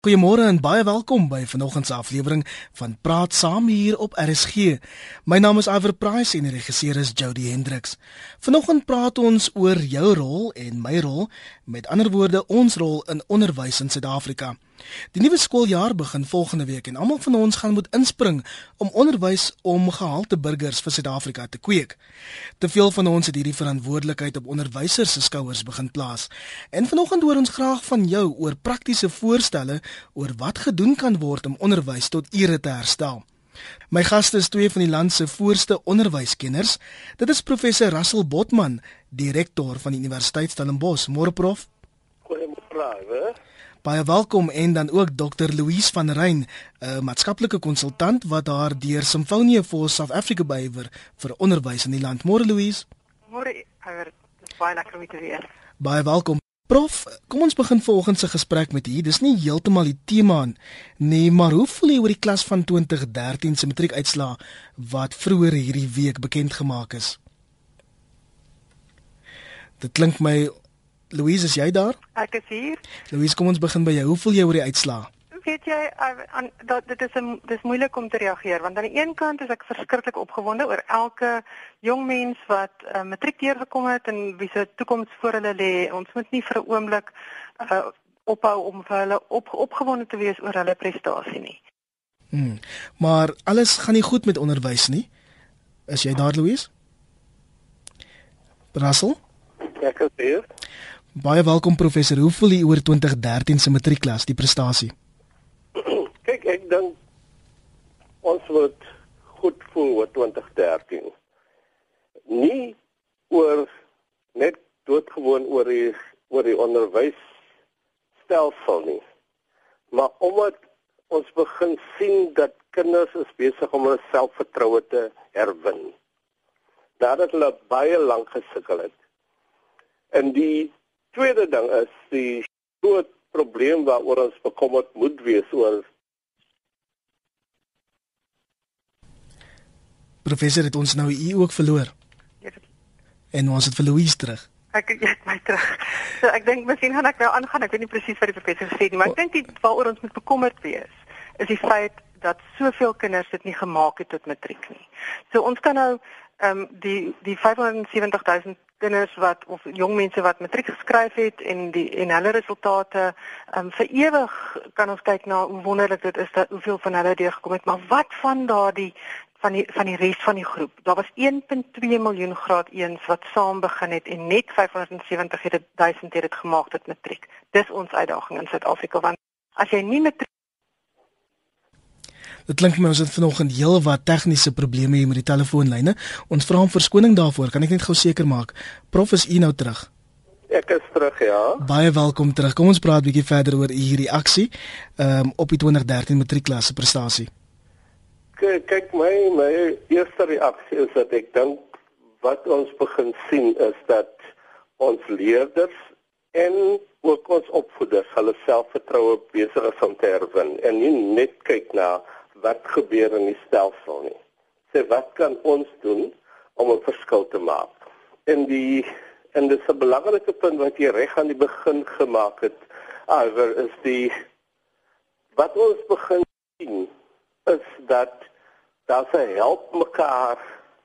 Goeiemôre en baie welkom by vanoggend se aflewering van Praat Saam hier op RSG. My naam is Iver Price en die regisseur is Jody Hendricks. Vanoggend praat ons oor jou rol en my rol, met ander woorde ons rol in onderwys in Suid-Afrika. Die nuwe skooljaar begin volgende week en almal van ons gaan moet inspring om onderwys om gehalte burgers vir Suid-Afrika te kweek. Te veel van ons het hierdie verantwoordelikheid op onderwysers se skouers begin plaas. En vanoggend hoor ons graag van jou oor praktiese voorstelle oor wat gedoen kan word om onderwys tot ere te herstel. My gaste is twee van die land se voorste onderwyskenners. Dit is professor Russell Botman, direkteur van die Universiteit Stellenbosch. Môre prof. Goeiemôre. Baie welkom en dan ook Dr. Louise van Ryn, 'n maatskaplike konsultant wat haar deur Symphony for South Africa bywer vir onderwys in die land. Môre Louise. Môre, Iver. Dis baie lekker om u te weer. Baie welkom. Prof, kom ons begin vanoggend se gesprek met u. Dis nie heeltemal die tema nie, maar hoe voel jy oor die klas van 2013 se matriekuitslae wat vroeër hierdie week bekend gemaak is? Dit klink my, Louise, is jy daar? Ek is hier. Louise, kom ons begin by jou. Hoe voel jy oor die uitslae? Weet jy, dit is moeilik om te reageer, want aan die een kant is ek verskriklik opgewonde oor elke jong mens wat matriek deurgekom het en wie se toekoms voor hulle lê. Ons moet nie vir 'n oomblik ophou om vir hulle opgewonde te wees oor hulle prestasie nie. Maar alles gaan nie goed met onderwys nie. Is jy daar, Louise? Russell? Ek is hier. Baie welkom professor. Hoe voel jy oor 2013 se matriekklas, die prestasie? Kyk, ek dink ons moet goed voel oor 2013. Nie oor net doodgewoon oor die onderwysstelsel nie. Maar omdat ons begin sien dat kinders is besig om hulle selfvertroue te herwin. Nadat hulle baie lank gesukkel het. En die tweede ding is die groot probleem waaroor ons bekommerd moet wees oor. Professor, het ons nou u ook verloor? Ja. En ons het vir Louise terug. Ek het my terug. So ek dink miskien gaan ek nou aangaan. Ek weet nie presies wat die professor gesê het nie, maar ek dink waaroor ons moet bekommerd wees is die feit dat soveel kinders dit nie gemaak het tot matriek nie. So ons kan nou die 570,000 kinders of jong mense wat matriek geskryf het en hulle resultate vir ewig kan ons kyk na hoe wonderlik dit is dat hoeveel van hulle deurgekom het, maar wat van daardie van die res van die groep. Daar was 1.2 miljoen graad 1s wat saam begin het en net 570,000 het dit gemaak tot matriek. Dis ons uitdaging in Suid-Afrika, want as jy nie matriek. Dit klink vir my ons het vanoggend heelwat tegniese probleme hier met die telefoonlyne. Ons vra om verskoning daarvoor. Kan ek net gou seker maak? Prof, is u nou terug? Ek is terug, ja. Baie welkom terug. Kom ons praat 'n bietjie verder oor u reaksie op die 2013 matriekklas se prestasie. Kyk, my eerste reaksie is dat ek dink wat ons begin sien is dat ons leerders en ook ons opvoeders hulle selfvertroue besig is om te herwin en nie net kyk na wat gebeur in die stelsel nie. Sê wat kan ons doen om 'n verskil te maak? En dit is 'n belangrike punt wat jy reg aan die begin gemaak het. Is wat ons begin sien is dat daar 'n help mekaar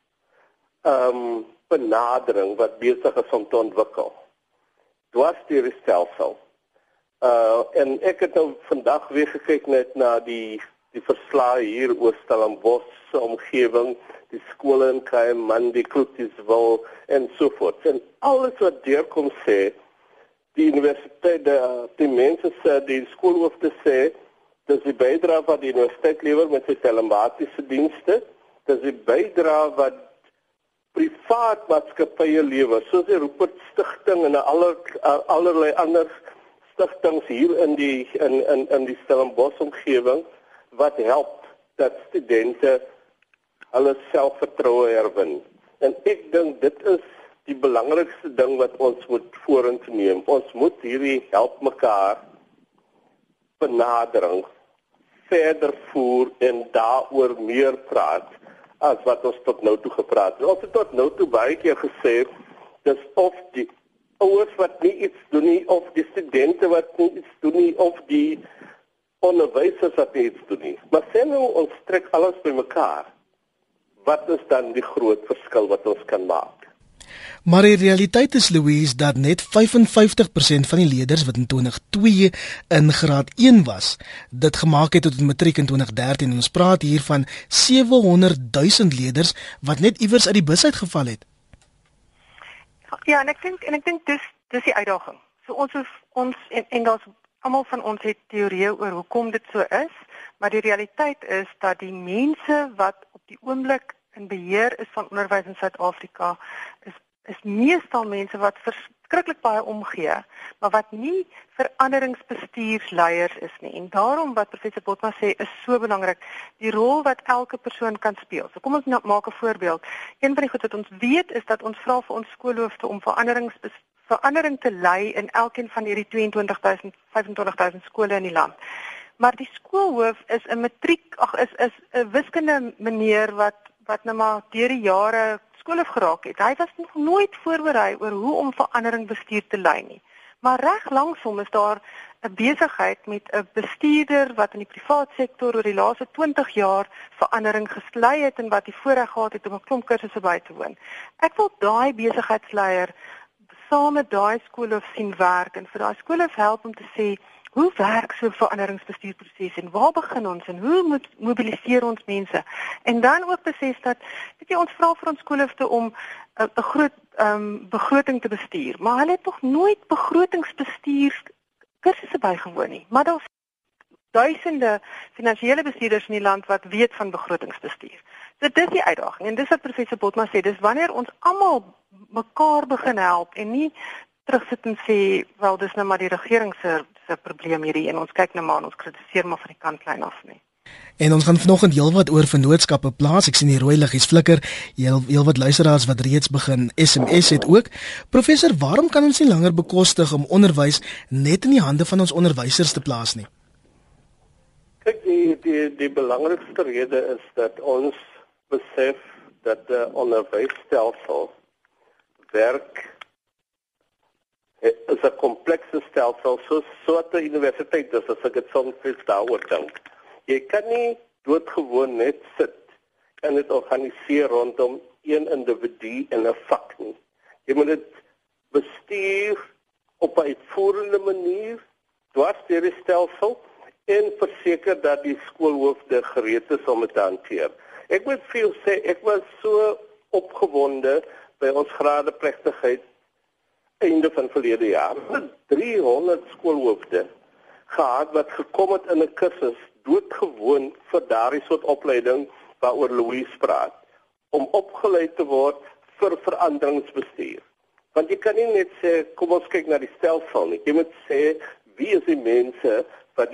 benadering wat besig is om te ontwikkel. Dwars deur die stelsel. En ek het nou vandag weer gekyk net na die verslae hier oor Stellenbosch se omgewing, die skole in Kaiman, die Kloetiswil en so voort. En alles wat deurkom sê, die universiteit, die mense sê, die skoolhoofde sê, dis die bydrae wat die universiteit lewer met sy telematiese dienste, dis die bydrae wat privaat maatskappye lewer, soos die Rupert Stichting en allerlei ander stigtings hier in die Stellenbosch omgewing wat help dat studente hulle selfvertroue herwin. En ek dink dit is die belangrikste ding wat ons moet vorentoe neem. Ons moet hierdie help mekaar benadering verder voer en daaroor meer praat as wat ons tot nou toe gepraat het. Ons het tot nou toe baie keer gesê dis of die ouers wat nie iets doen nie, of die studente wat nie iets doen nie, of die onderwysers wat iets doen nie. Maar sê nou ons trek alles bymekaar. Wat is dan die groot verskil wat ons kan maak? Maar die realiteit is, Louise, dat net 55% van die leerders wat in 2002 in graad 1 was, dit gemaak het tot matriek in 2013. En ons praat hier van 700,000 leerders wat net iewers uit die bus uitgeval het. Ja, en ek dink dis die uitdaging. So ons en daar's almal van ons het teorieë oor hoekom dit so is, maar die realiteit is dat die mense wat op die oomblik in beheer is van onderwys in Suid-Afrika is meestal mense wat verskriklik baie omgee, maar wat nie veranderingsbestuursleiers is nie. En daarom wat professor Botma sê is so belangrik, die rol wat elke persoon kan speel. So kom ons maak 'n voorbeeld. Een van die goed wat ons weet is dat ons vra vir ons skoolhoofde om verandering te lei in elkeen van hierdie 25.000 skole in die land. Maar die skoolhoof is 'n is 'n wiskunde meneer wat nou maar deur die jare skoolhoof geraak het. Hy was nog nooit voorberei oor hoe om verandering bestuur te lei nie. Maar reg langsom is daar 'n besigheid met 'n bestuurder wat in die privaat sektor oor die laaste 20 jaar verandering gelei het en wat die voorreg gehad het om 'n klomp kursusse by te woon. Ek wil daai besigheidsleier saam met daai skoolhoof sien werk en vir daai skoolhoof help om te sê, hoe werk so 'n veranderingsbestuurproses en waar begin ons en hoe mobiliseer ons mense? En dan ook besef dat ons vra vir ons skoolhoofde om 'n groot begroting te bestuur, maar hulle het nog nooit begrotingsbestuur kursusse bygewoon nie. Maar daar's duisende finansiële bestuurders in die land wat weet van begrotingsbestuur. So dis die uitdaging en dis wat professor Botma sê, dis wanneer ons almal mekaar begin help en nie terugsit en sê, wel dis nou maar die regering se probleem hierdie en ons kyk nou maar en ons kritiseer maar van die kantlyn af nie. En ons gaan vanoggend heelwat oor vennootskappe plaas. Ek sien die rooi liggies flikker. Heelwat luisteraars wat reeds begin SMS het ook. Professor, waarom kan ons nie langer bekostig om onderwys net in die hande van ons onderwysers te plaas nie? Kyk, die belangrikste rede is dat ons besef dat die onderwysstelsel werk is 'n komplekse stelsel soos 'n universiteit is, as ek dit soms daaroor dink. Jy kan nie doodgewoon net sit en dit organiseer rondom een individu in 'n vak nie. Jy moet dit bestuur op 'n uitvoerende manier, dwars deur die stelsel en verseker dat die skoolhoofde gereed is om dit te hanteer. Ek moet vir jou sê, ek was so opgewonde by ons gradeplegtigheid einde van verlede jaar. 300 skoolhoofde gehad wat gekom het in 'n kursus doodgewoon vir daardie soort opleiding waaroor Louise praat, om opgelei te word vir veranderingsbestuur. Want jy kan nie net sê, kom ons kyk na die stelsel nie. Jy moet sê, wie is die mense wat die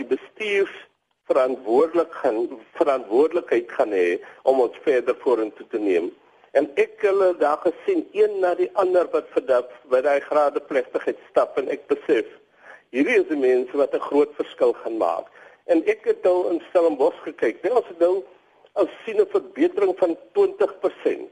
bestuursverantwoordelikheid gaan hê om ons verder vorentoe te neem. En ek het daar gesien, een na die ander wat verdap by daai gradeplegtigheid stap en ek besef, hierdie is die mense wat 'n groot verskil gaan maak. En ek het nou in Stellenbosch gekyk. Ons het nou al sien 'n verbetering van 20%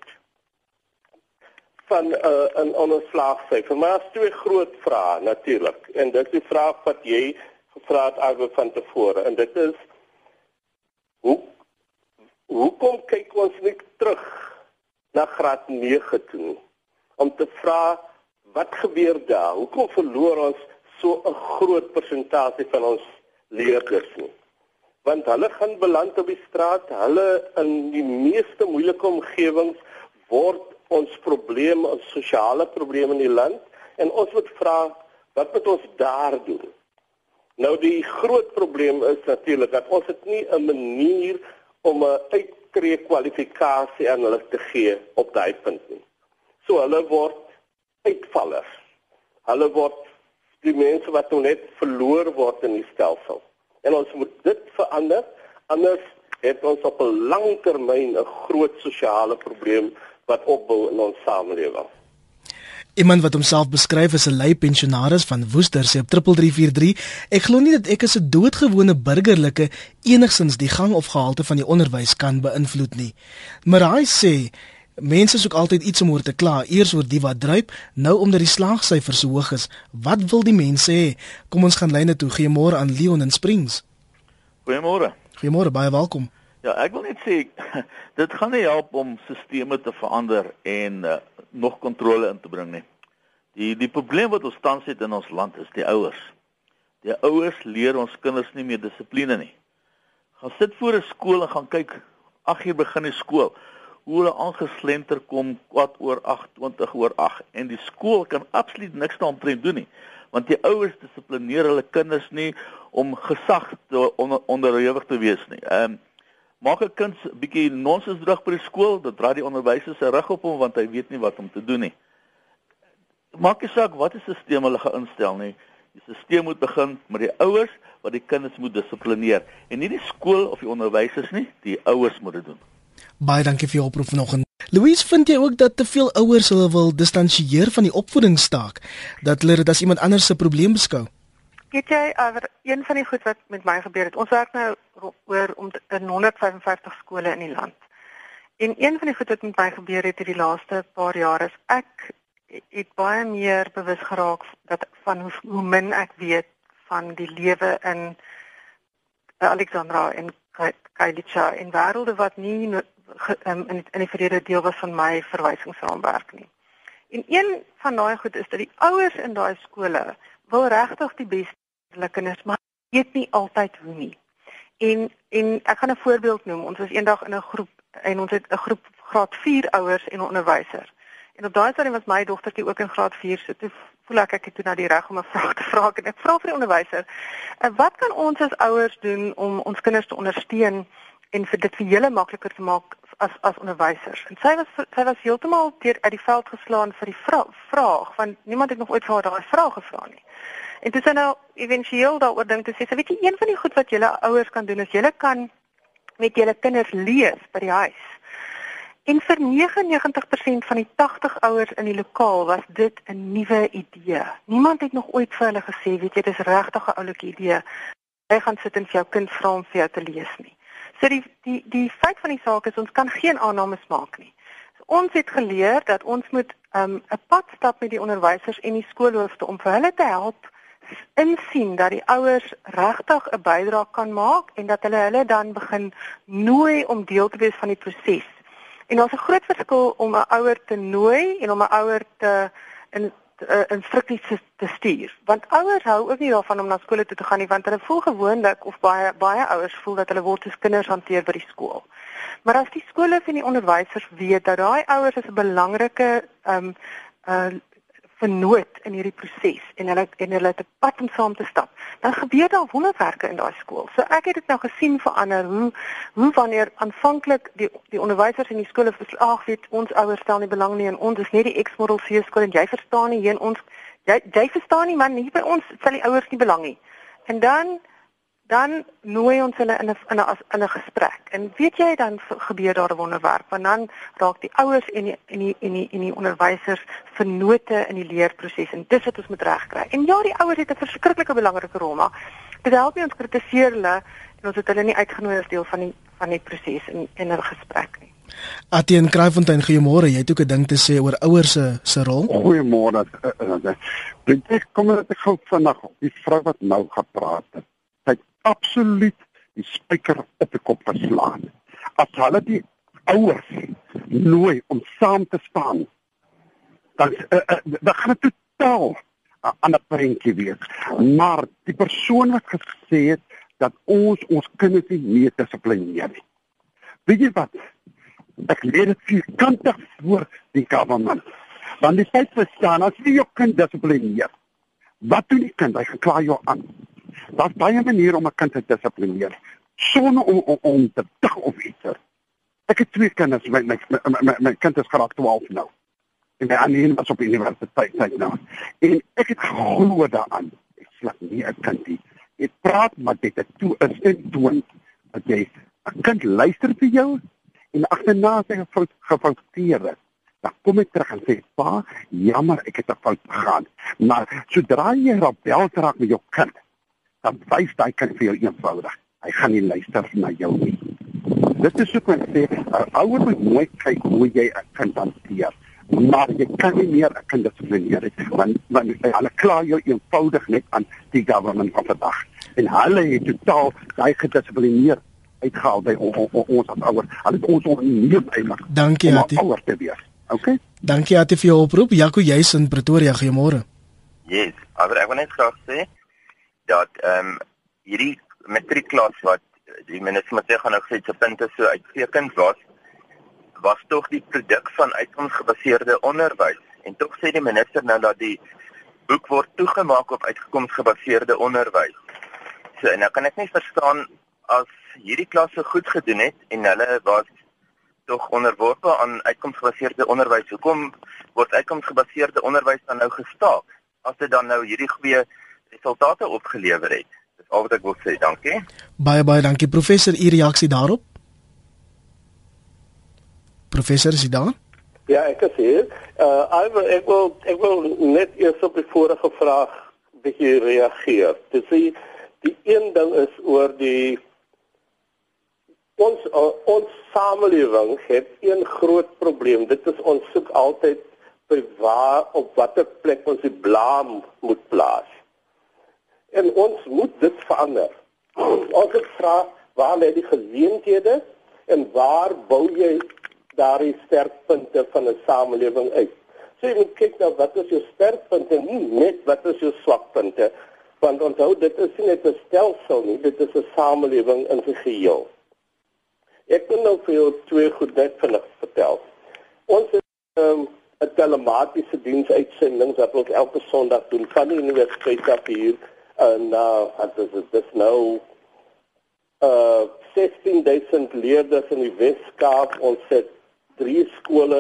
van 'n onderslaagsyfer. Maar daar's twee groot vrae natuurlik. En dit is die vraag wat jy gevra het alweer van tevore. En dit is, hoekom kyk ons nie terug na graad 9 toe, om te vra, wat gebeur daar? Hoekom verloor ons so 'n groot persentasie van ons leerders nie? Want hulle gaan beland op die straat, hulle in die meeste moeilike omgewings word ons probleem, ons sosiale probleem in die land, en ons moet vra, wat moet ons daar doen? Nou die groot probleem is natuurlik dat ons het nie 'n manier om 'n uittreekwalifikasie aan hulle te gee op daai punt nie. So hulle word uitvallers. Hulle word die mense wat nou net verloor word in die stelsel. En ons moet dit verander, anders het ons op 'n lang termyn 'n groot sosiale probleem wat opbou in ons samelewing. Iemand wat homself beskryf as 'n lui pensionaris van Woester sê op 3343, ek glo nie dat ek as 'n doodgewone burgerlike enigsins die gang of gehalte van die onderwys kan beïnvloed nie. Maar hy sê, mense soek altyd iets om oor te kla, eers oor die wat druip, nou omdat die slaagsyfers so hoog is. Wat wil die mense hê? Kom ons gaan lyne toe, gee môre aan Leon in Springs. Goeiemôre. Goeiemôre, baie welkom. Ja, ek wil net sê dit gaan nie help om sisteme te verander en nog kontrole in te bring nie. Die probleem wat ons tans het in ons land is die ouers. Die ouers leer ons kinders nie meer dissipline nie. Gaan sit voor 'n skool en gaan kyk 8 uur begin die skool. Hoe hulle aangeslenter kom 8:15, 20:08 en die skool kan absoluut niks daaromtrent doen nie. Want die ouers dissiplineer hulle kinders nie om gesag onderhewig te wees nie. Maak 'n kind 'n bietjie nonsens droog by die skool, dan draai die onderwyser se rug op hom want hy weet nie wat om te doen nie. Maak nie saak wat 'n stelsel hulle gaan instel nie. Die stelsel moet begin met die ouers wat die kinders moet dissiplineer en nie die skool of die onderwysers nie, die ouers moet dit doen. Baie dankie vir jou oproep vanoggend. Louise, vind jy ook dat te veel ouers hulle wil distansieer van die opvoedingstaak, dat hulle dit as iemand anders se probleem beskou? Weet jy, een van die goed wat met my gebeur het, ons werk nou oor in 155 skole in die land. En een van die goed wat met my gebeur het in die laaste paar jaar is, ek het baie meer bewus geraak van hoe min ek weet van die lewe in Alexandra en Khayelitsha en wêrelde wat nie in die verlede deel was van my verwysingsraamwerk nie. En een van daai goed is dat die ouers in daai skole wil regtig die beste vir hulle kinders, maar weet nie altyd hoe nie. En ek gaan 'n voorbeeld noem. Ons was eendag in 'n groep en ons het 'n groep graad 4 ouers en 'n onderwyser. En op daai stadium was my dogtertjie ook in graad 4, so toe voel ek het toe na die reg om 'n vraag te vra en ek vra vir die onderwyser, wat kan ons as ouers doen om ons kinders te ondersteun en vir dit vir julle makliker te maak as onderwysers? En sy was heeltemal uit die veld geslaan vir die vraag, want niemand het nog ooit vir haar daai vraag gevra nie. En toe sy nou éventueel daaroor dink te sê, weet jy, een van die goed wat julle ouers kan doen is julle kan met julle kinders lees by die huis. En vir 99% van die 80 ouers in die lokaal was dit 'n nuwe idee. Niemand het nog ooit vir hulle gesê, weet jy, dis regtig 'n oulike idee. Jy gaan sit en vir jou kind vra om vir jou te lees nie. So die feit van die saak is ons kan geen aannames maak nie. So ons het geleer dat ons moet 'n pad stap met die onderwysers en die skoolhoofde om vir hulle te help insien dat die ouers regtig 'n bydrae kan maak en dat hulle dan begin nooi om deel te wees van die proses. En daar's 'n groot verskil om 'n ouer te nooi en om 'n ouer te instruksies te stuur. Want ouers hou ook nie daarvan om na skole toe te gaan nie, want hulle voel gewoonlik of baie ouers voel dat hulle word as kinders hanteer by die skool. Maar as die skole en die onderwysers weet dat daai ouers is 'n belangrike vernoot in hierdie proses en hulle het 'n pad om saam te stap, dan gebeur daar wonderwerke in daai skool. So ek het dit nou gesien verander hoe wanneer aanvanklik die onderwysers in die skole verslag weet ons ouers stel nie belang nie en ons is net die X-model C skool en jy verstaan nie hier in ons jy verstaan nie man, hier by ons stel die ouers nie belang nie. En dan nooi ons hulle in 'n gesprek. En weet jy, dan gebeur daar 'n wonderwerk, want dan raak die ouers en die onderwysers vennote in die leerproses en dis wat ons moet regkry. En ja, die ouers het 'n verskriklike belangrike rol, maar dit help nie ons kritiseer hulle en ons het hulle nie uitgenooi as deel van die proses in 'n gesprek nie. Atien Kraaifontein, goeiemôre. Jy het ook 'n ding te sê oor ouers se rol. Goeiemôre. Ek kom net gou vandag op die vrou wat nou gepraat het. Sy het absoluut die spyker op die kop geslaan. As hulle die ouers nooi om saam te staan, dan gaan dit totaal aan 'n prentjie wees. Maar die persoon wat gesê het dat ons kinders nie meer dissiplineer nie. Weet jy wat? Ek leer dit vierkantig voor die government. Want die feit bestaan, as jy jou kind dissiplineer, wat doen die kind? Hy gaan klaar jou aan. Daar's baie maniere om 'n kind te dissiplineer, sonder om te dag of iets. Ek het 2 kinders, my kind is graad 12 nou. En my ander een was op universiteit nou. En ek het geglo daaraan. Ek slag nie 'n kind nie. Ek praat maar dit is toe is en doen dat jy 'n kind luister vir jou en agterna sy gefouteer het. Dan kom ek terug en sê, pa, jammer, ek het 'n fout gegaan. Maar sodra jy rebel raak met jou kind, dan wys daai kind vir jou eenvoudig. Hy gaan nie luister na jou nie. Dit is ook wat ek sê, 'n ouer moet nooit kyk hoe jy 'n kind hanteer. Maar jy kan nie meer 'n kind dissiplineer nie, want hulle kla jou eenvoudig net aan die government van vandag. en hulle het totaal daai gedissiplineerd uitgehaal by ons as ouers. Hulle het ons onneem eintlik Dankie, om Ati. ouers te wees. Okay? Dankie Ati vir jou oproep. Jaco, jy's in Pretoria, goeiemôre. Yes, maar ek wil net graag sê dat hierdie matriekklas wat die minister moet sê gaan nou gesê se punte so uitstekend was tog die produk van uitkomsgebaseerde onderwys. En tog sê die minister nou dat die boek word toegemaak op uitkomsgebaseerde onderwys. So en nou kan ek nie verstaan as hierdie klasse goed gedoen het en hulle was tog onderworpe aan uitkomsgebaseerde onderwys. Hoekom word uitkomsgebaseerde onderwys dan nou gestaak as dit dan nou hierdie goeie resultate opgelewer het? Dis al wat ek wil sê. Dankie. Baie dankie. Professor, u reaksie daarop? Professor, is u daar? Ja, ek is hier. Ek wil net eers op die vorige vraag bietjie reageer. Dis die een ding is oor ons samelewing het een groot probleem. Dit is ons soek altyd by op watter plek ons die blaam moet plaas. En ons moet dit verander. Ons het vra waar lê die geleenthede en waar bou jy daardie sterkpunte van 'n samelewing uit. So jy moet kyk na wat is jou sterkpunte, nie net wat is jou swakpunte, want onthou dit is nie net 'n stelsel nie, dit is 'n samelewing in sy geheel. Ek wil nou vir jou twee goed net vinnig vertel. Ons het 'n telematiese diensuitsendings wat ons elke Sondag doen van die universiteit af hier en dit is nou 16,000 leerders in die Weskaap. Ons het 3 skole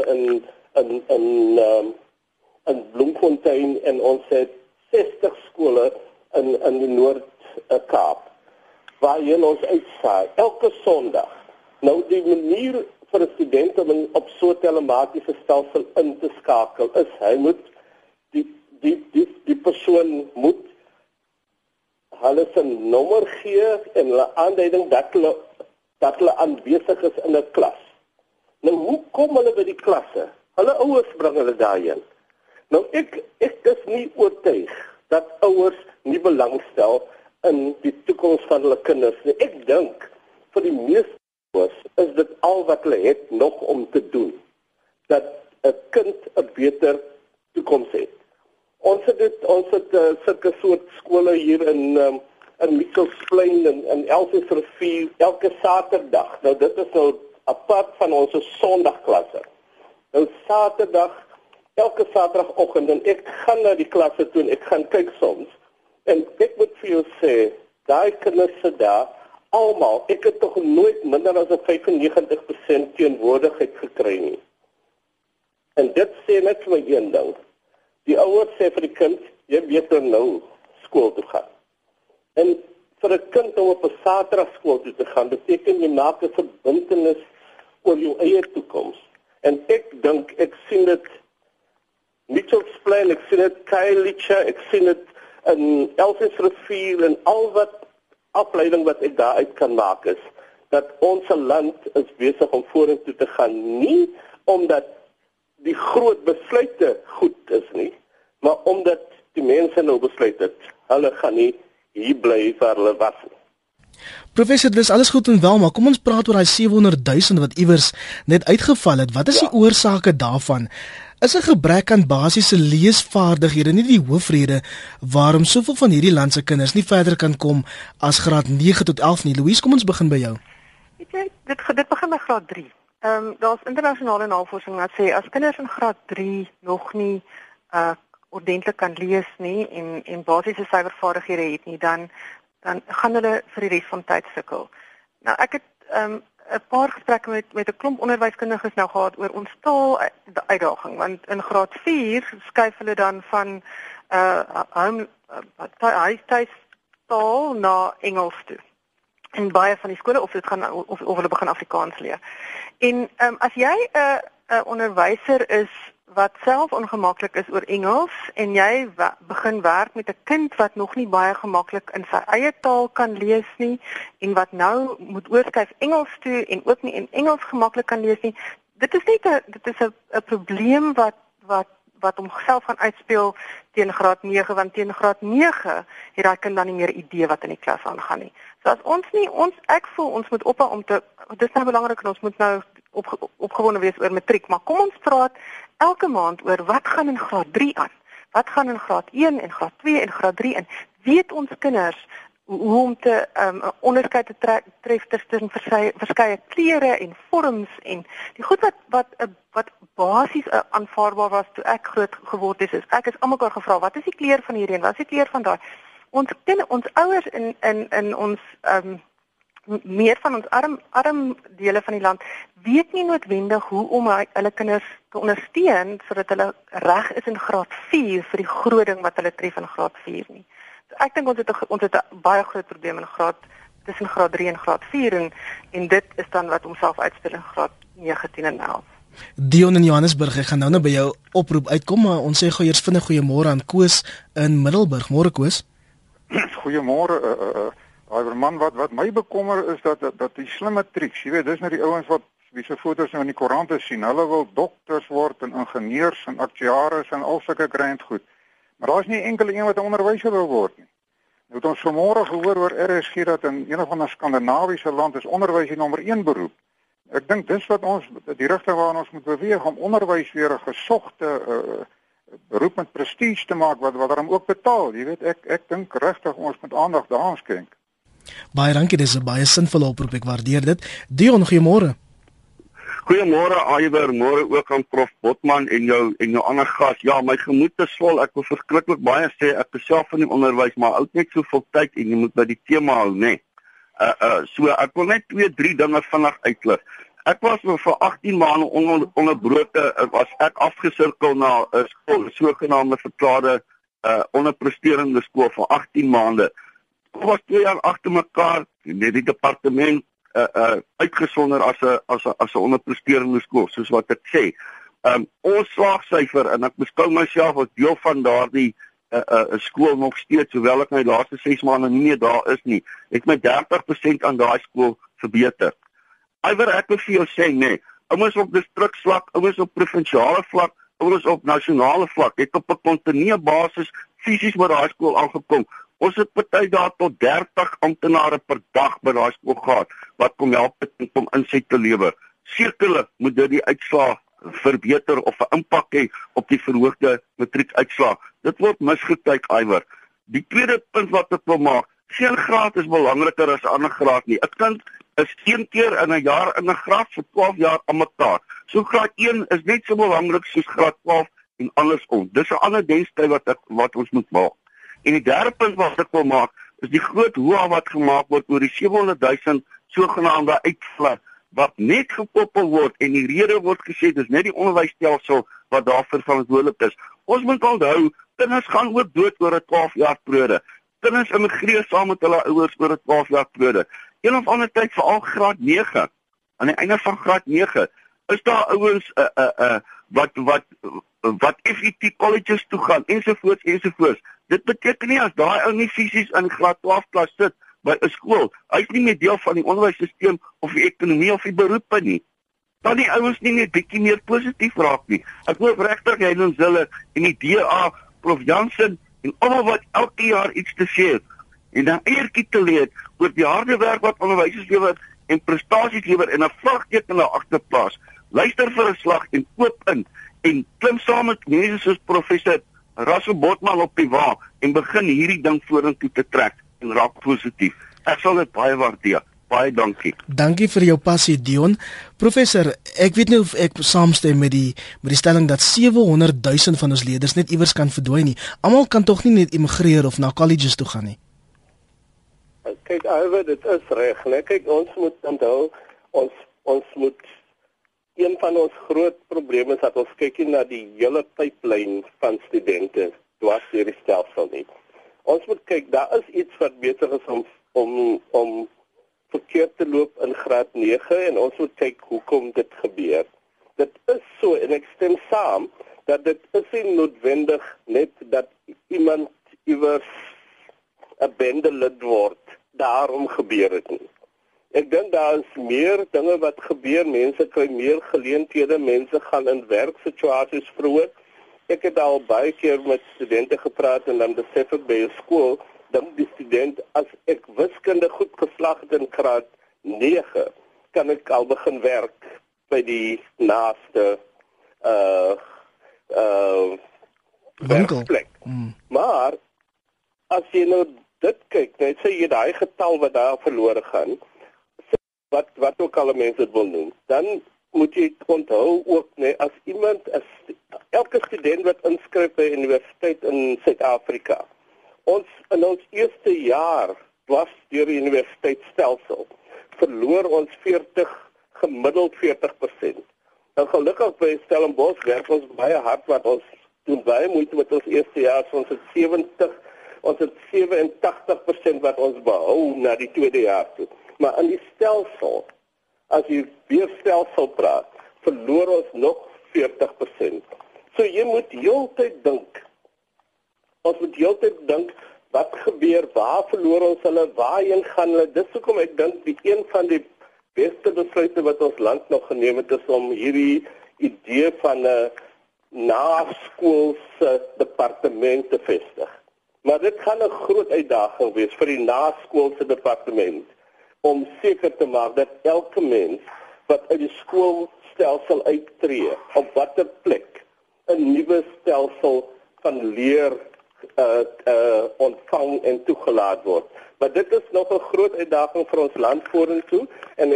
in Bloemfontein en ons het 60 skole in die Noord-Kaap waarheen ons uitsaai elke Sondag. Nou die manier vir 'n student om op so 'n telematiese stelsel in te skakel is hy moet die persoon moet hulle se nommer gee en hulle aanduiding dat hulle aanwesig is in 'n klas. Nou hoe kom hulle by die klasse? Hulle ouers bring hulle daarheen. Nou ek is nie oortuig dat ouers nie belangstel in die toekoms van hulle kinders nie. Ek dink vir die meeste ouers is dit al wat hulle het nog om te doen dat 'n kind 'n beter toekoms het. Ons het sulke soort skole hier in Mitchellsplein en Elsiersrivier elke Saterdag. Nou dit is nou apart van ons Sondagklasse. Nou elke Saterdagoggend en ek gaan na die klasse toe en ek gaan kyk soms. En ek moet vir jou sê, daai kinders sit daar almal, ek het tog nooit minder as 95% teenwoordigheid gekry nie. En dit sê net vir my een ding. Die ouers sê vir die kind, jy weet nou skool toe gaan. En vir 'n kind om op 'n Saterdag skool toe te gaan, beteken jy maak 'n verbintenis oor jou eie toekoms. En ek dink, ek sien dit Mitchellsplein, ek sien dit Khayelitsha, ek sien dit in Elsiersrivier en al wat afleiding wat ek daaruit kan maak is, dat ons land is besig om vorentoe te gaan, nie omdat die groot besluite goed is nie, maar omdat die mense nou besluit het, hulle gaan nie hier bly waar hulle was nie. Professor, dis alles goed en wel, maar kom ons praat oor daai 700,000 wat iewers net uitgeval het. Wat is die oorsake daarvan? Is 'n gebrek aan basiese leesvaardighede nie die hoofrede waarom soveel van hierdie land se kinders nie verder kan kom as graad 9 tot 11 nie? Louise, kom ons begin by jou. Weet jy, dit begin by graad 3. Daar's internasionale navorsing wat sê as kinders in graad 3 nog nie ordentlik kan lees nie en basiese syfervaardighede het nie, dan gaan hulle vir die res van tyd sukkel. Nou ek het 'n paar gesprekke met 'n klomp onderwyskundiges nou gehad oor ons taal uitdaging, want in graad 4 skuif hulle dan van huistaal na Engels toe. En baie van die skole of hulle begin Afrikaans leer. En as jy 'n onderwyser is wat self ongemaklik is oor Engels en jy begin werk met 'n kind wat nog nie baie gemaklik in sy eie taal kan lees nie en wat nou moet oorskuif Engels toe en ook nie in Engels gemaklik kan lees nie, dit is 'n probleem wat wat homself gaan uitspeel teen graad 9, want teen graad 9 het daai kind dan nie meer idee wat in die klas aangaan nie. So as ek voel ons moet ophou om te, dis nou belangrik en ons moet nou opgewonde wees oor matriek, maar kom ons praat elke maand oor wat gaan in graad 3 aan. Wat gaan in graad 1 en graad 2 en graad 3 in? Weet ons kinders hoe om te onderskeid te tref tussen verskeie kleure en vorms en die goed wat basies aanvaarbaar was toe ek groot geword het, is ek is almekaar gevra, wat is die kleur van hierdie en wat is die kleur van daai? Ons ouers in ons meer van ons arm dele van die land weet nie noodwendig hoe om hulle kinders te ondersteun sodat hulle reg is in graad 4 vir die groot ding wat hulle tref in graad 4 nie. So ek dink ons het 'n baie groot probleem in tussen graad 3 en graad 4 en dit is dan wat homself uitspel in graad 9, 10 en 11. Dion in Johannesburg, ek gaan nou by jou oproep uitkom, maar ons sê gou eers vinnig goeiemôre aan Koos in Middelburg. Môre Koos. Goeiemôre. Man, wat my bekommer is dat die slim matrieks, jy weet, dis nou die ouens wat wie se foto's nou in die koerante sien. Hulle wil dokters word en ingenieurs en aktuaries en al sulke grand goed. Maar daar's nie enkele een wat 'n onderwyser wil word nie. Nou het ons vanmôre gehoor oor RSG dat in een of ander Skandinawiese land is onderwys die nommer 1 beroep. Ek dink dis wat ons die rigting waarna ons moet beweeg om onderwys weer 'n gesogte beroep met prestige te maak wat daarom ook betaal. Jy weet, ek dink regtig ons moet aandag daaraan skenk. Baie dankie, dis 'n baie sinvolle oproep, ek waardeer dit. Dion, goeiemôre. Goeiemôre Iwer, môre ook aan Prof Botman en jou ander gas. Ja, my gemoed is vol. Ek wil verskriklik baie sê ek is self in die onderwys, maar ook net soveel tyd en jy moet by die tema hou, né? So ek wil net 2-3 dinge vinnig uitlig. Ek was vir 18 maande onderbroke, was ek afgesirkel na 'n skool, 'n sogenaamde verklaarde onderpresterende skool vir 18 maande. Ek was 2 jaar agter mekaar in die departement uitgesonder as 'n onderpresterende skool, soos wat ek sê. Ons slaagsyfer, en ek beskou myself as deel van daardie skool nog steeds, hoewel ek my laaste 6 maande nie meer daar is nie, het my 30% aan daai skool verbeter. Iwer, ek wil vir jou sê, nee, ouens op distriksvlak, ouens op provinsiale vlak, ouens op nasionale vlak, het op 'n kontinuerlike basis fisies by daai skool aangekom. Ons het party daar tot 30 amptenare per dag by daai skool gehad wat kom help om inset te lewer. Sekerlik moet dit die uitslae verbeter of 'n impak hê op die verhoogde matriekuitslae. Dit word misgekyk, Iwer. Die tweede punt wat ek wil maak, geen graad is belangriker as 'n ander graad nie. 'n Kind is 1 keer in 'n jaar in 'n graad vir 12 jaar aan mekaar. So graad 1 is net so belangrik soos graad 12 en andersom. Dis 'n ander denktyd wat ons moet maak. En die derde punt wat ek wil maak, is die groot hoa wat gemaak word oor die 700,000 sogenaamde uitvlaag wat net gekoppel word en die rede word gesê dis net die onderwysstelsel wat daarvoor verantwoordelik is. Ons moet onthou, kinders gaan ook dood oor 'n 12 jaar periode. Kinders immigreer saam met hulle ouers oor 'n 12 jaar periode. Een of ander tyd, veral graad 9, aan die einde van graad 9, is daar ouens wat FET colleges toe gaan ensovoorts. Dit beteken nie as daai ou nie fisies in graad 12 klas sit by 'n skool, hy's nie meer deel van die onderwysstelsel of die ekonomie of die beroepe nie. Dan die ouens nie net bietjie meer positief raak nie. Ek hoop regtig hy ons hulle en die DA, Prof Jansen en almal wat elke jaar iets te sê het en dan eertjie te leer oor die harde werk wat onderwysers lewer en prestasies lewer en 'n vlagteken daar agter plaas. Luister vir 'n slag en koop in en klim saam met mense soos professor Russell Botman op die wa en begin hierdie ding vorentoe te trek en raak positief. Ek sal dit baie waardeer. Baie dankie. Dankie vir jou passie, Dion. Professor, ek weet nie of ek saamstem met die stelling dat 700,000 van ons leerders net iewers kan verdwyn nie. Almal kan tog nie net immigreer of na colleges toe gaan nie. Kyk, Iwer, dit is reg, né? Kyk, ons moet onthou, ons moet een van ons groot probleme is dat ons kyk na die hele pipeline van studente dwars deur die stelsel nie. Ons moet kyk, daar is iets wat beter is om verkeerd te loop in graad 9 en ons moet kyk hoekom dit gebeur. Dit is so en ek stem saam dat dit is nie noodwendig net dat iemand iewers 'n bende lid word, daarom gebeur dit nie. Ek dink daar is meer dinge wat gebeur, mense kry meer geleenthede, mense gaan in werksituasies vroeg ek het al baie keer met studente gepraat en dan besef ek by 'n skool, dan die student, as ek wiskunde goed geslaag het in graad 9, kan ek al begin werk by die naaste werkplek. Maar as jy nou dit kyk, net sê jy daai getal wat daar verlore gaan, wat ook al mense dit wil noem, dan moet jy onthou ook, nee, as elke student wat inskryf by universiteit in Suid-Afrika, in ons eerste jaar was deur die universiteitsstelsel, verloor ons gemiddeld 40%. Nou gelukkig by Stellenbosch werk ons baie hard, wat ons doen baie moeite met ons eerste jaar, so ons het 87% wat ons behou na die tweede jaar toe. Maar in die stelsel, as jy weer stelsel praat, verloor ons nog 40%. So jy moet heeltyd dink. Ons moet heeltyd dink, wat gebeur, waar verloor ons hulle, waarheen gaan hulle? Dis hoekom ek dink die een van die beste besluite wat ons land nog geneem het, is om hierdie idee van 'n naskoolse departement te vestig. Maar dit gaan 'n groot uitdaging wees vir die naskoolse departement, om seker te maak dat elke mens wat uit die skoolstelsel uittreë, op watter plek 'n nuwe stelsel van leer ontvang en toegelaat word. Maar dit is nog 'n groot uitdaging vir ons land vorentoe, en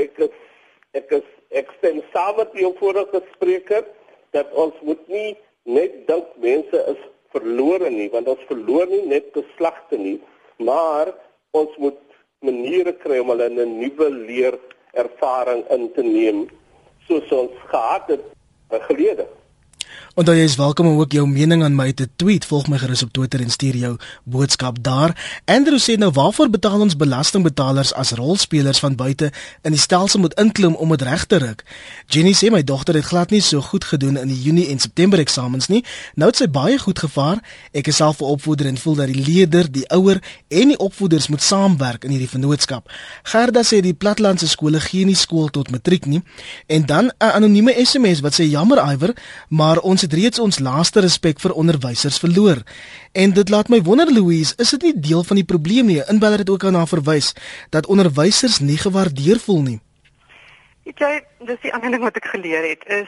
ek stem saam met die vorige spreker dat ons moet nie net dink mense is verlore nie, want ons verloor nie net geslagte nie, maar ons moet maniere kry om hulle in 'n nuwe leerervaring in te neem, soos ons gehad het gelede. Onthou jy is welkom om ook jou mening aan my te tweet. Volg my gerus op Twitter en stuur jou boodskap daar. Andrew sê nou, waarvoor betaal ons belastingbetalers as rolspelers van buite in die stelsel moet inklim om dit reg te ruk? Jenny sê my dogter het glad nie so goed gedoen in die Junie en September eksamens nie. Nou het sy baie goed gevaar. Ek is self 'n opvoeder en voel dat die leerder, die ouer en die opvoeders moet saamwerk in hierdie vennootskap. Gerda sê die plattelandse skole gee nie skool tot matriek nie. En dan 'n anonieme SMS wat sê jammer Iwer, maar ons het reeds ons laaste respek vir onderwysers verloor. En dit laat my wonder, Louise, is dit nie deel van die probleem nie? Inbeller het ook daarna verwys dat onderwysers nie gewaardeer voel nie. Weet jy, dis die ander ding wat ek geleer het, is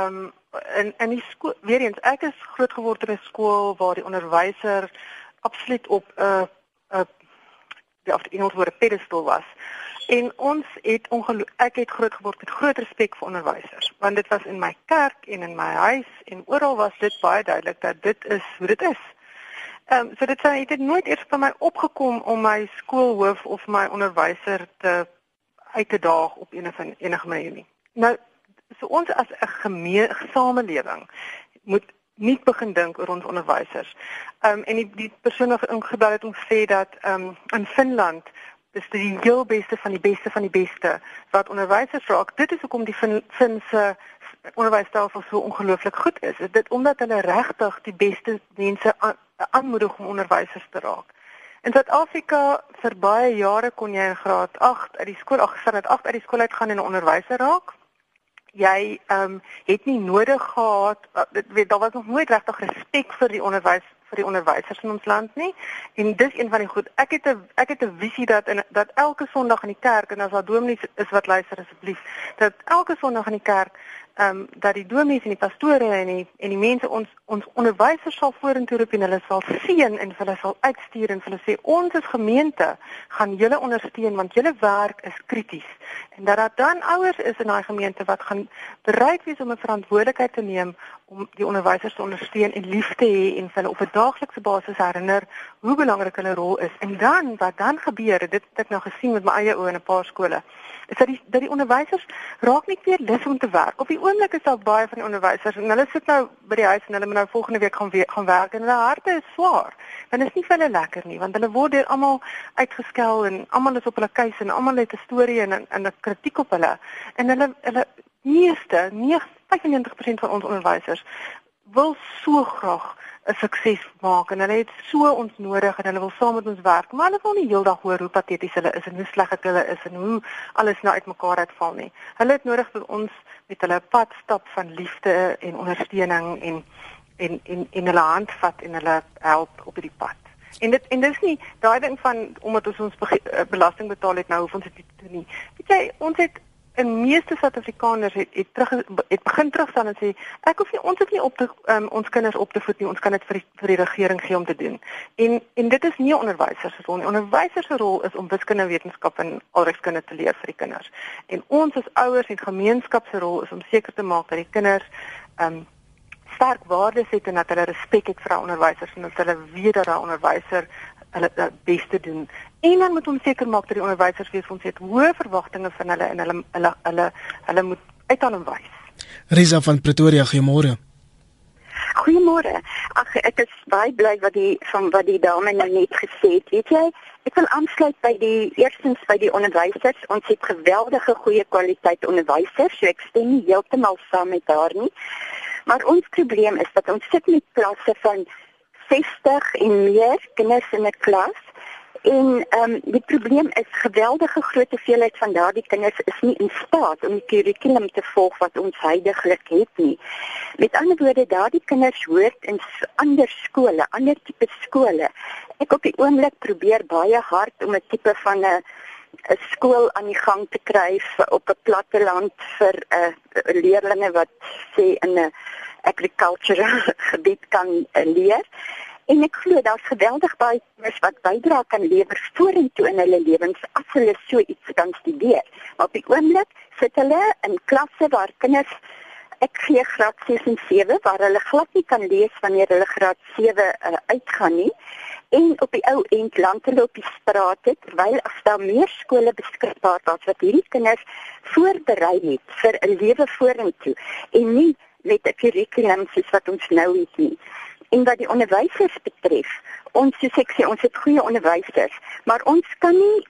in die skool, weer eens, ek is groot geword in 'n skool waar die onderwyser absoluut op die Engelse woord pedestal was. En ek het groot geword met groot respek vir onderwysers, want dit was in my kerk en in my huis en oral was dit baie duidelik dat dit is hoe dit is. So dit het nooit eers by my opgekom om my skoolhoof of my onderwyser uit te daag op enige manier nie. Nou, so ons as 'n samelewing moet nie begin dink oor ons onderwysers. En die persoon wat ingebel het om gesê dat in Finland dis die heel beste van die beste wat onderwysers raak. Dit is hoekom die Finse onderwysstelsel so ongelooflik goed is. Dit omdat hulle regtig die beste mense aanmoedig om onderwysers te raak. In Suid-Afrika vir baie jare kon jy in graad 8 uit die skool uitgaan en 'n onderwyser raak. Jy het nie nodig gehad, daar was nog nooit regtig respek vir die onderwysers in ons land nie. En dis een van die goed. Ek het 'n visie dat elke Sondag in die kerk, en as daar dominees is wat luister asseblief, dat elke Sondag in die kerk dat die dominees en die pastore en die mense ons onderwysers sal vorentoe roep en hulle sal seën en hulle sal uitstuur en hulle sê ons as gemeente gaan julle ondersteun want julle werk is krities. En dat daar dan ouers is in daai gemeente wat gaan bereid wees om 'n verantwoordelikheid te neem om die onderwysers te ondersteun en lief te hê en hulle op 'n daaglikse basis herinner hoe belangrik hulle rol is. En dan wat dan gebeur, dit het ek nou gesien met my eie oë in 'n paar skole, is dat die onderwysers raak nie meer lus om te werk. Op die oomblik is daar baie van die onderwysers en hulle sit nou by die huis en hulle moet nou volgende week gaan werk en hulle harte is swaar. Want dit is nie vir hulle lekker nie, want hulle word deur almal uitgeskel en almal is op hulle keuse en almal het 'n storie en 'n kritiek op hulle. En hulle 95% van ons onderwysers wil so graag 'n sukses maak en hulle het so ons nodig en hulle wil saam met ons werk, maar hulle wil nie heeldag hoor hoe pateties hulle is en hoe sleg hulle is en hoe alles nou uitmekaar uitval nie. Hulle het nodig dat ons met hulle pad stap van liefde en ondersteuning en hulle hand vat en hulle help op die pad. En dis nie daai ding van omdat ons belasting betaal het nou hoef ons dit nie te doen nie. Weet jy, ons het in meeste Suid-Afrikaners het begin terugstaan en sê ons hoef nie ons kinders op te voed nie, ons kan dit vir die regering gee om te doen. En dit is nie 'n onderwyser se rol nie. Onderwyser se rol is om wiskunde, wetenskap en alregskunde te leer vir die kinders. En ons as ouers en gemeenskap se rol is om seker te maak dat die kinders sterk waardes het en dat hulle respek het vir daai onderwysers en dat hulle weet dat daai onderwyser hulle beste doen. En dan moet ons seker maak dat die onderwysers weet ons het hoë verwagtinge van hulle en hulle moet uithaal en wys. Risa van Pretoria, goeiemôre. Goeiemôre. Ag, ek is baie bly wat die dame nou net gesê het. Weet jy, ek wil aansluit eerstens by die onderwysers. Ons het geweldige goeie kwaliteit onderwysers, so ek stem nie heeltemal saam met haar nie. Maar ons probleem is dat ons sit met klasse van 60 en meer kinders in 'n klas. En die probleem is geweldige groot hoeveelheid van daardie kinders is nie in staat om die kurrikulum te volg wat ons huidigelik het nie. Met ander woorde, daardie kinders hoort in ander skole, ander tipe skole. Ek op die oomblik probeer baie hard om 'n tipe van 'n skool aan die gang te kry op 'n platteland vir leerlinge wat sê in 'n agricultural gebied kan leer. En ek glo daar's geweldig baie kinders wat bydra kan lewer vorentoe in hulle lewens as hulle so iets kan studeer. Maar op die oomblik sit hulle in klasse waar kinders, ek gee graad 6 en 7, waar hulle glad nie kan lees wanneer hulle graad 7 uitgaan nie. En op die ou end land hulle op die strate, terwyl as daar meer skole beskikbaar was wat hierdie kinders voorberei het vir 'n lewe vorentoe en nie met 'n kurrikulum soos wat ons nou het nie. En wat die onderwysers betref, soos ek sê, ons het goeie onderwysers, maar ons kan nie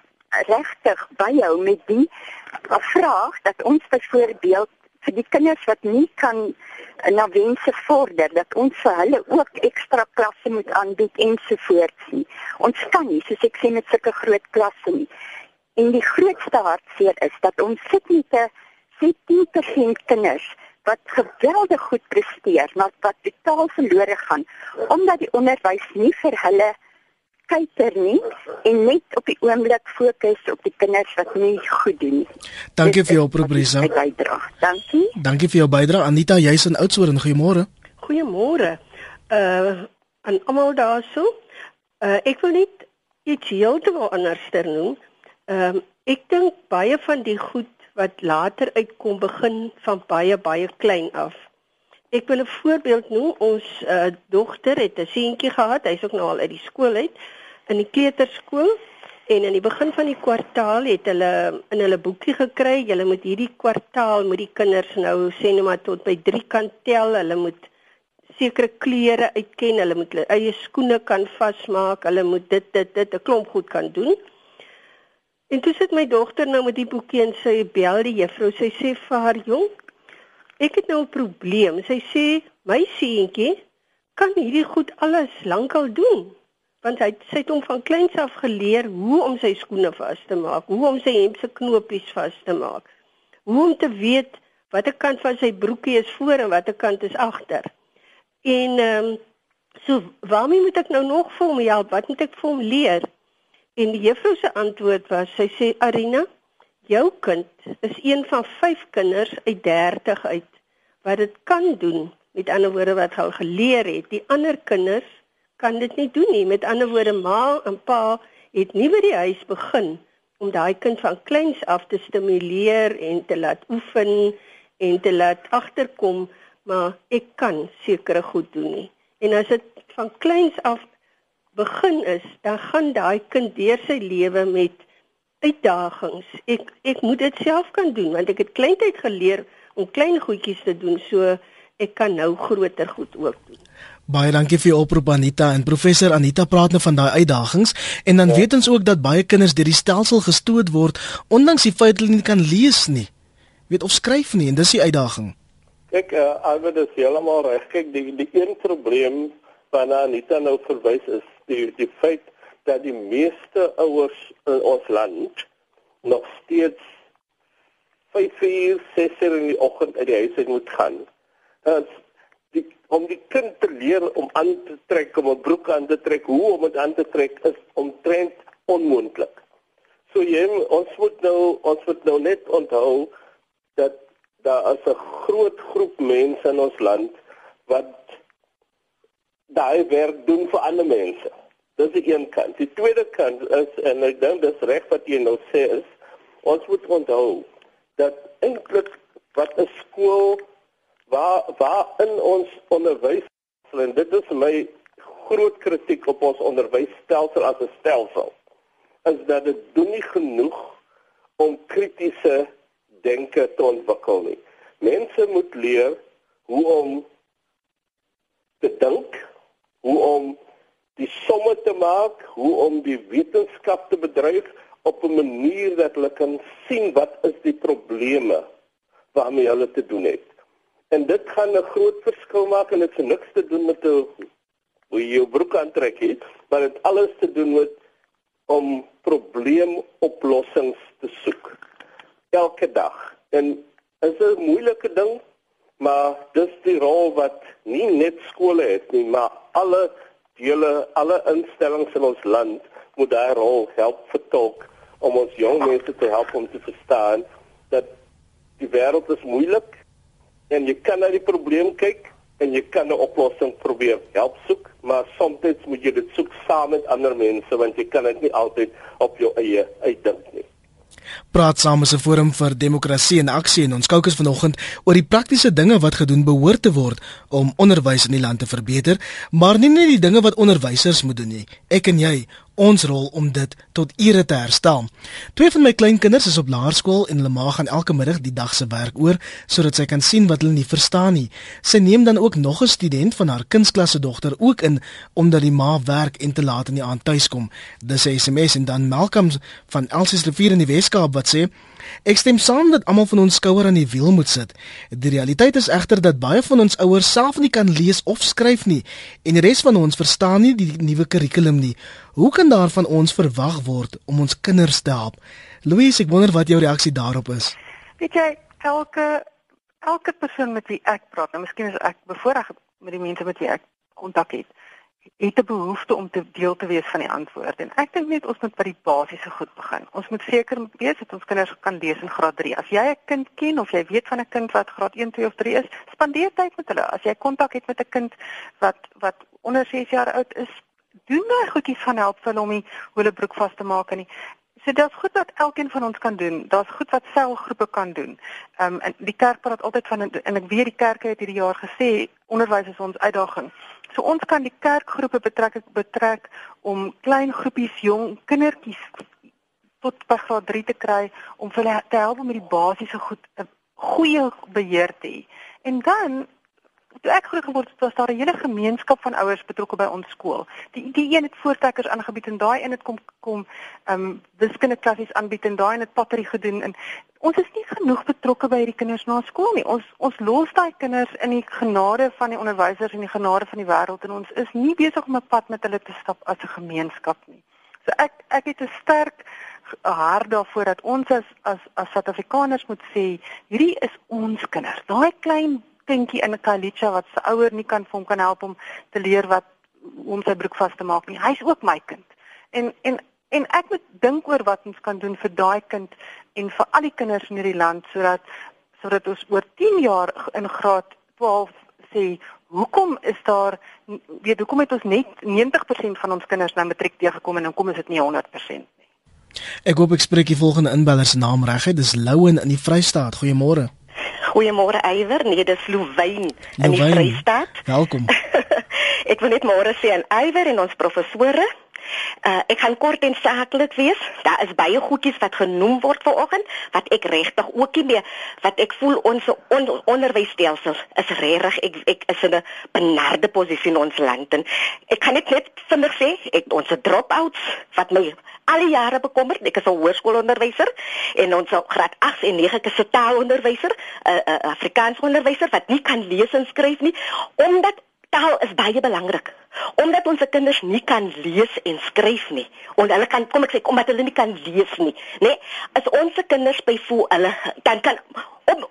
regtig byhou met die vraag dat ons byvoorbeeld vir die kinders wat nie kan na wense vorder, dat ons vir hulle ook ekstra klasse moet aanbied ensovoorts nie. Ons kan nie, soos ek sê, met sulke groot klasse nie. En die grootste hartseer is dat ons sit met 10% kinders wat geweldig goed presteer, maar wat totaal verlore gaan, omdat die onderwys nie vir hulle kyker nie, en net op die oomblik fokus op die kinders wat nie goed doen nie. Dankie vir jou oproep, Risa. Dankie. Dankie vir jou bydrae. Anita, jy's in Oudtshoorn, goeiemôre. Goeiemôre. Aan almal daarso. Ek wil net iets heeltemal anders noem. Ek dink baie van die goed wat later uitkom begin van baie klein af. Ek wil 'n voorbeeld noem. Ons dogter het 'n seentjie gehad, hy's ook nou al uit die skool uit, in die kleuterskool, en in die begin van die kwartaal het hulle in hulle boekie gekry, julle moet hierdie kwartaal moet die kinders nou sê nou maar tot by 3 kan tel, hulle moet sekere kleure uitken, hulle moet hulle eie skoene kan vasmaak, hulle moet dit 'n klomp goed kan doen. En toe sit my dogter nou met die boekie en sy bel die juffrou, sy sê vir haar, jong, ek het nou 'n probleem. Sy sê, my seentjie kan hierdie goed alles lankal doen, want sy het hom van kleins af geleer hoe om sy skoene vas te maak, hoe om sy hemp se knopies vas te maak, hoe om te weet watter kant van sy broekie is voor en watter kant is agter. En so waarmee moet ek nou nog vir hom help? Wat moet ek vir hom leer? En die juffrou se antwoord was, sy sê, Arina, jou kind is een van 5 kinders uit 30 uit wat dit kan doen, met ander woorde wat al geleer het. Die ander kinders kan dit nie doen nie. Met ander woorde, ma en pa het nie by die huis begin om daai kind van kleins af te stimuleer en te laat oefen en te laat agterkom, maar ek kan sekere goed doen nie. En as dit van kleins af begin is, dan gaan daai kind deur sy lewe met uitdagings. Ek moet dit self kan doen, want ek het kleintyd geleer om klein goedjies te doen, so ek kan nou groter goed ook doen. Baie dankie vir jou oproep, Anita. En professor Anita praat nou van daai uitdagings, en dan weet ons ook dat baie kinders deur die stelsel gestoot word, ondanks die feit dat hulle nie kan lees nie, weet of skryf nie, en dis die uitdaging. Kyk, Albert is heeltemal reg. Kyk, die een probleem waarna Anita nou verwys is die feit dat die meeste ouers in ons land nog steeds 5 uur, 6 uur in die oggend uit die huis uit moet gaan. om die kind te leer om aan te trek, om 'n broek aan te trek, hoe om dit aan te trek is omtrent onmoontlik. So ons moet nou net onthou dat daar is 'n groot groep mense in ons land wat daai werk doen vir ander mense. Dis die een kant. Die tweede kant is, en ek dink dis reg wat jy nou sê, is ons moet onthou dat eintlik wat 'n skool waar in ons onderwys, en dit is my groot kritiek op ons onderwysstelsel as 'n stelsel, is dat dit doen nie genoeg om kritiese denke te ontwikkel nie. Mense moet leer hoe om te dink, hoe om die somme te maak, hoe om die wetenskap te bedryf op 'n manier dat hulle kan sien wat is die probleme waarmee hulle te doen het. En dit gaan 'n groot verskil maak, en dit het niks te doen met hoe jy jou broek aantrek het, maar dit alles te doen met om probleemoplossings te soek. Elke dag. En is 'n moeilike ding, maar dis die rol wat nie net skole het nie, maar alle instellings in ons land moet daai rol help vertolk om ons jong mense te help om te verstaan dat die wêreld is moeilik en jy kan na die probleem kyk en jy kan 'n oplossing probeer help soek, maar soms moet jy dit soek saam met ander mense want jy kan dit nie altyd op jou eie uitdink nie. Praat Saam is 'n forum vir demokrasie en aksie en ons kookus vanoggend oor die praktiese dinge wat gedoen behoort te word om onderwys in die land te verbeter, maar nie net die dinge wat onderwysers moet doen nie. Ek en jy, ons rol om dit tot ere te herstel. 2 van my kleinkinders is op laerskool en hulle ma gaan elke middag die dag se werk oor sodat sy kan sien wat hulle nie verstaan nie. Sy neem dan ook nog 'n student van haar kunstklasse dogter ook in omdat die ma werk en te laat in die aand tuiskom. Dis 'n SMS en dan Malcolm van Elsies Rivier in die Weskaap wat sê: Ek stem saam dat almal van ons skouer aan die wiel moet sit. Die realiteit is egter dat baie van ons ouers self nie kan lees of skryf nie en die res van ons verstaan nie die nuwe kurrikulum nie. Hoe kan daar van ons verwag word om ons kinders te help? Louise, ek wonder wat jou reaksie daarop is. Weet jy, elke persoon met wie ek praat, nou miskien is ek bevoorreg met die mense met wie ek kontak het 'n behoefte om deel te wees van die antwoord. En ek dink net ons moet by die basiese goed begin. Ons moet seker wees dat ons kinders kan lees in graad 3. As jy 'n kind ken of jy weet van 'n kind wat graad 1, 2 of 3 is, spandeer tyd met hulle. As jy kontak het met 'n kind wat onder 6 jaar oud is, doen daai goedjies van help vir hom hoe hulle broek vas te maak en nie. So dit is goed wat elkeen van ons kan doen. Daar's goed wat selgroepe kan doen. En die kerk praat altyd van, en ek weet die kerke het hierdie jaar gesê onderwys is ons uitdaging. So ons kan die kerkgroepe betrek om klein groepies jong kindertjies tot by graad 3 te kry om vir hulle te help om met die basiese goed 'n goeie beheer te hê. En dan toe ek groot geword het, was daar 'n hele gemeenskap van ouers betrokke by ons skool. Die een het voortrekkers aangebied en daai een het kom wiskundeklassies aanbied en daai een het pottery gedoen en ons is nie genoeg betrokke by hierdie kinders na skool nie. Ons los daai kinders in die genade van die onderwysers en die genade van die wêreld en ons is nie besig om 'n pad met hulle te stap as 'n gemeenskap nie. So ek het 'n sterk hart daarvoor dat ons as Suid-Afrikaners moet sê, hierdie is ons kinders. Daai klein kindjie in 'n Kalicha wat sy ouer nie kan vir hom kan help om te leer om sy broek vas te maak nie. Hy's ook my kind. En ek moet dink oor wat ons kan doen vir daai kind en vir al die kinders in hierdie land sodat ons oor 10 jaar in graad 12 sê, hoekom het ons net 90% van ons kinders na matriek deurgekom en hoekom is dit nie 100% nie? Ek hoop ek spreek die volgende inbeller se naam reg. Dis Louwen in die Vrystaat. Goeiemôre. Goeiemôre Eywer, nee dis Louwyn in die Vrystaat. Welkom. Ek wil net môre sê aan Eywer en ons professore. Ek gaan kort en saaklik wees. Daar is baie goedjies wat genoem word vanoggend wat ek regtig ook nie meer wat ek voel ons onderwysstelsel is regtig ek is in 'n benarde posisie in ons land en ek kan net vinnig sê ons drop-outs wat my al die jare bekommerd. Ek is 'n hoërskoolonderwyser en ons graad 8 en 9 is 'n taalonderwyser, 'n Afrikaans onderwyser wat nie kan lees en skryf nie omdat taal is baie belangrik. Omdat ons kinders nie kan lees en skryf nie. Omdat hulle nie kan lees nie, nê? As ons kinders byvoorbeeld hulle kan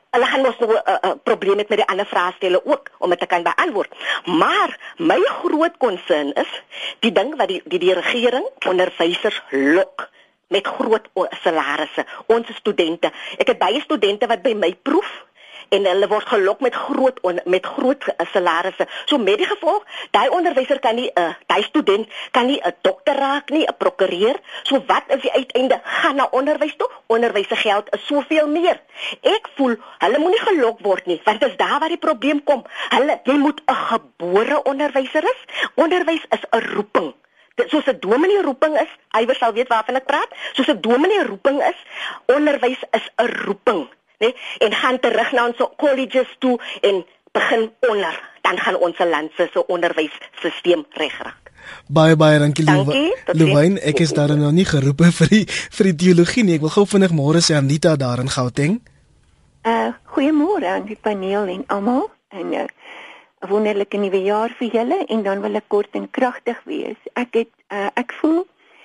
hulle gaan mos nog 'n probleem met die ander vraestelle ook om dit te kan beantwoord. Maar my groot concern is die ding wat die regering onderwysers lok met groot salarisse, ons studente. Ek het baie studente wat by my proef en hulle word gelok met groot salarisse. So met die gevolg, daai onderwyser kan nie daai student kan nie 'n dokter raak nie, 'n prokureur. So wat is die uiteinde? Gaan na onderwys toe. Onderwys se geld is soveel meer. Ek voel hulle moenie gelok word nie, want dis daar waar die probleem kom. Jy moet 'n gebore onderwyser is. Onderwys is 'n roeping. Soos 'n dominee roeping is, Iwer sal weet waarvan ek praat. Soos 'n dominee roeping is, onderwys is 'n roeping. Nee, en gaan terug na ons colleges toe en begin onder, dan gaan ons land se onderwysstelsel regraak. Baie dankie Louwyn, ek is daar nou nie geroep vir die teologie nie. Ek wil gou vinnig môre sê Anita daar in Gauteng. Goeiemôre aan die paneel en almal en 'n wonderlike nuwe jaar vir julle en dan wil ek kort en kragtig wees. Ek voel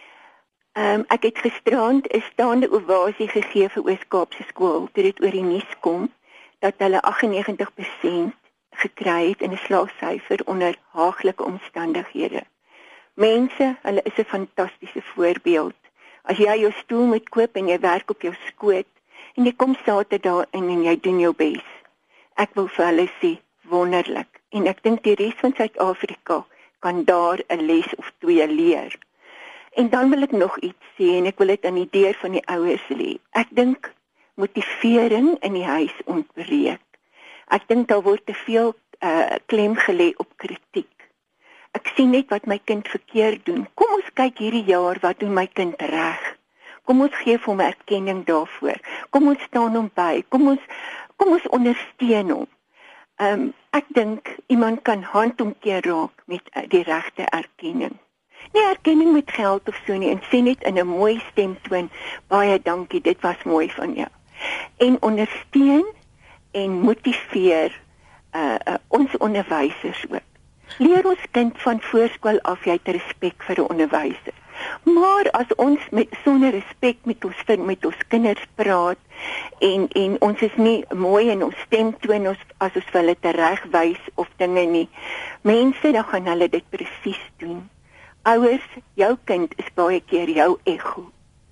ek het gisterand 'n staande ovasie gegee vir Oos-Kaapse skool toe dit oor die nuus kom dat hulle 98% gekry het in 'n slaagsyfer onder haaglike omstandighede. Mense, hulle is 'n fantastiese voorbeeld. As jy jou stoel moet koop en jy werk op jou skoot en jy kom Saterdag en jy doen jou bes. Ek wil vir hulle sê wonderlik en ek dink die res van Suid-Afrika kan daar 'n les of 2 leer. En dan wil ek nog iets sê en ek wil dit aan die deur van die ouers lê. Ek dink motivering in die huis ontbreek. Ek dink daar word te veel klem gelê op kritiek. Ek sien net wat my kind verkeerd doen. Kom ons kyk hierdie jaar wat doen my kind reg. Kom ons gee hom erkenning daarvoor. Kom ons staan hom by. Kom ons ondersteun hom. Ek dink iemand kan handomkeer raak met die regte erkenning. Nie erkenning met geld of so nie, en sê net in 'n mooi stemtoon, baie dankie, dit was mooi van jou. En ondersteun en motiveer ons onderwysers ook. Leer ons kind van voorskool af jy het respek vir 'n onderwyser. Maar as ons sonder respek met ons kinders praat en ons is nie mooi in ons stemtoon as ons vir hulle teregwys of dinge nie, mense dan gaan hulle dit presies doen. Ouers, jou kind is baie keer jou ego.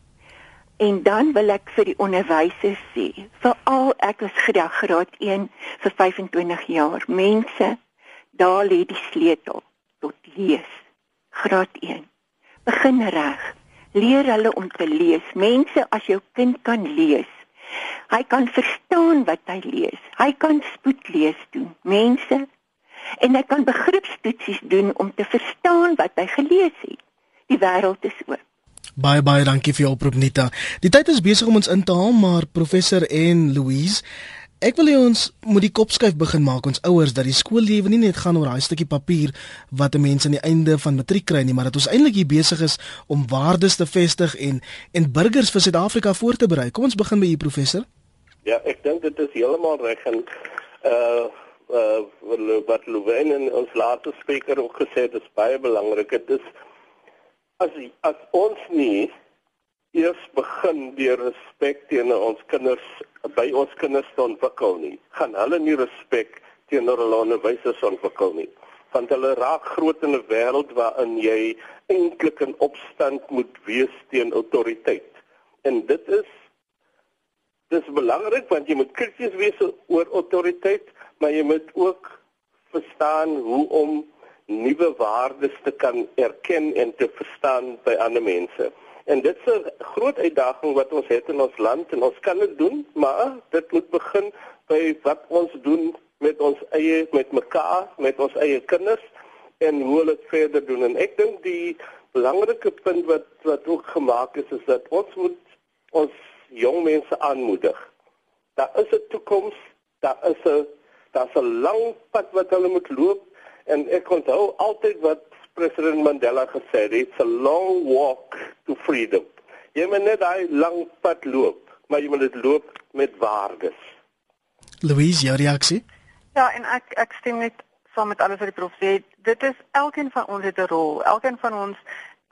En dan wil ek vir die onderwysers sê, veral ek was graad 1 vir 25 jaar. Mense, daar lê die sleutel tot lees. Graad 1. Begin reg. Leer hulle om te lees. Mense, as jou kind kan lees, hy kan verstaan wat hy lees. Hy kan spoedlees doen. Mense, en hy kan begripstoetsies doen om te verstaan wat hy gelees het. Die wêreld is oop. Baie dankie vir jou oproep, Nita. Die tyd is besig om ons in te haal, maar professor en Louise, ek wil hê ons moet die kopskuif begin maak ons ouers dat die skoollewe nie net gaan oor daai stukkie papier wat 'n mens aan die einde van matriek kry nie, maar dat ons eintlik hier besig is om waardes te vestig en burgers vir Suid-Afrika voor te berei. Kom ons begin by u, professor. Ja, ek dink dit is heeltemal reg en wat Louwyn en ons laaste spreker ook gesê het, is baie belangrik. Dit is as ons nie eers begin deur respek teenoor ons kinders by ons kinders te ontwikkel nie, gaan hulle nie respek teenoor hulle onderwysers ontwikkel nie. Want hulle raak groot in 'n wêreld waarin jy eintlik in opstand moet wees teen autoriteit. En dit is belangrik want jy moet krities wees oor autoriteit, maar jy moet ook verstaan hoe om nuwe waardes te kan erken en te verstaan by ander mense. En dit is 'n groot uitdaging wat ons het in ons land en ons kan dit doen, maar dit moet begin by wat ons doen met ons eie, met mekaar, met ons eie kinders en hoe hulle dit verder doen. En ek dink die belangrike punt wat ook gemaak is dat ons moet ons jong mense aanmoedig. Daar is 'n toekoms, daar's 'n lang pad wat hulle moet loop en ek onthou altyd wat President Mandela gesê het, it's a long walk to freedom. Jy moet net daai lang pad loop, maar jy moet dit loop met waardes. Louise, jou reaksie? Ja, en ek stem net saam met alles wat die prof sê. Dit is elkeen van ons het 'n rol. Elkeen van ons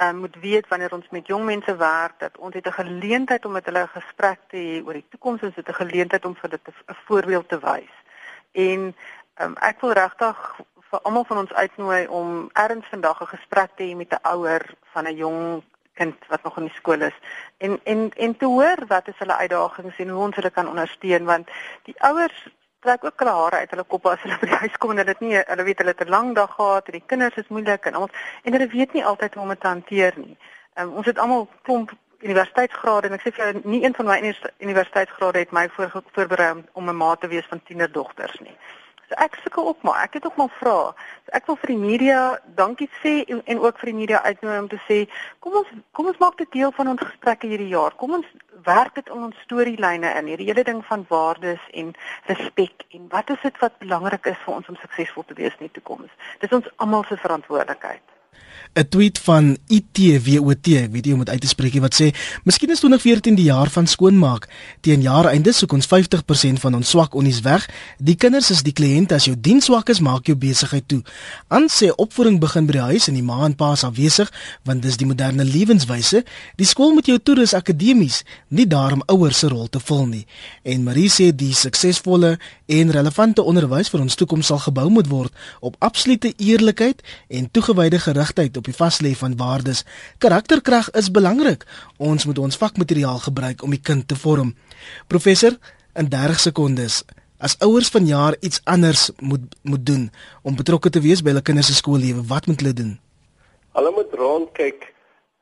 moet weet wanneer ons met jong mense werk dat ons het 'n geleentheid om met hulle 'n gesprek te hê oor die toekoms, ons het 'n geleentheid om vir dit 'n voorbeeld te wys. En ek wil regtig vir almal van ons uitnooi om erns vandag 'n gesprek te hê met 'n ouer van 'n jong kind wat nog in die skool is en te hoor wat is hulle uitdagings en hoe ons hulle kan ondersteun, want die ouers trek ook hulle hare uit hulle koppe as hulle by die huis kom en hulle weet hulle het 'n lang dag gehad en die kinders is moeilik en hulle weet nie altyd hoe om dit te hanteer nie. Ons het almal klomp universiteitsgrade en ek sê vir jou nie een van my universiteitsgrade het my voorberei om 'n ma te wees van tienerdogters nie. So ek sukkel ook maar, ek het ook maar vra. So ek wil vir die media dankie sê en ook vir die media uitnooi om te sê kom ons maak dit deel van ons gesprekke hierdie jaar. Kom ons werk dit in ons storielyne in, hierdie hele ding van waardes en respek en wat is dit wat belangrik is vir ons om suksesvol te wees in die toekoms. Dis ons almal se verantwoordelikheid. 'n Tweet van ITWOT, ek weet nie hoe om dit uit te spreek nie, wat sê, miskien is 2014 die jaar van skoonmaak. Teen jaareinde soek ons 50% van ons swak onnies weg. Die kinders is die kliënt, as jou diens swak is, maak jou besigheid toe. Aan sê opvoeding begin by die huis en die ma en pa is afwesig, want dis die moderne lewenswyse. Die skool moet jou toerus akademies, nie daarom ouers se rol te vul nie. En Marie sê die suksesvolle en relevante onderwys vir ons toekoms sal gebou moet word op absolute eerlikheid en toegewyde gerigtheid op die vaslê van waardes. Karakterkrag is belangrik. Ons moet ons vakmateriaal gebruik om die kind te vorm. Professor, in 30 sekondes, as ouers vanjaar iets anders moet doen om betrokke te wees by hulle kinders se skoollewe, wat moet hulle doen? Hulle moet rondkyk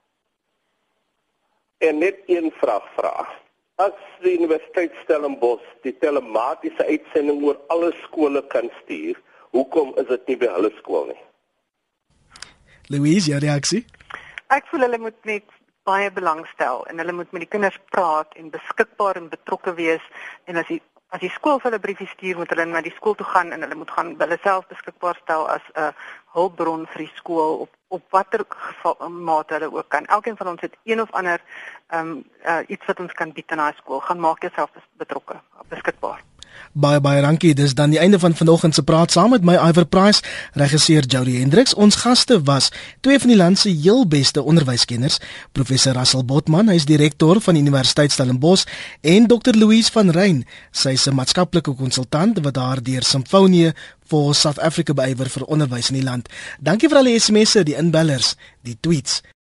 en net een vraag vra. As die Universiteit Stellenbosch die telematiese uitsending oor alle skole kan stuur, hoekom is dit nie by hulle skool nie? Louise, jou reaksie? Ek voel hulle moet net baie belangstel en hulle moet met die kinders praat en beskikbaar en betrokke wees en as die skool vir hulle briefie stuur, moet hulle na die skool toe gaan en hulle moet gaan hulle self beskikbaar stel as 'n hulpbron vir die skool op watter mate hulle ook kan. Elkeen van ons het een of ander iets wat ons kan bied aan daai skool. Gaan maak jouself betrokke, beskikbaar. Baie dankie. Dis dan die einde van vanoggend se praat saam met my Iver Price, regisseur Jody Hendricks. Ons gaste was twee van die land se heel beste onderwyskenners, professor Russell Botman, hy is direkteur van die Universiteit Stellenbosch, en Dr. Louise van Rein, sy is 'n maatskaplike konsultant wat daar deur Symfonie for South Africa beywer vir onderwys in die land. Dankie vir al die SMS'e, die inbellers, die tweets.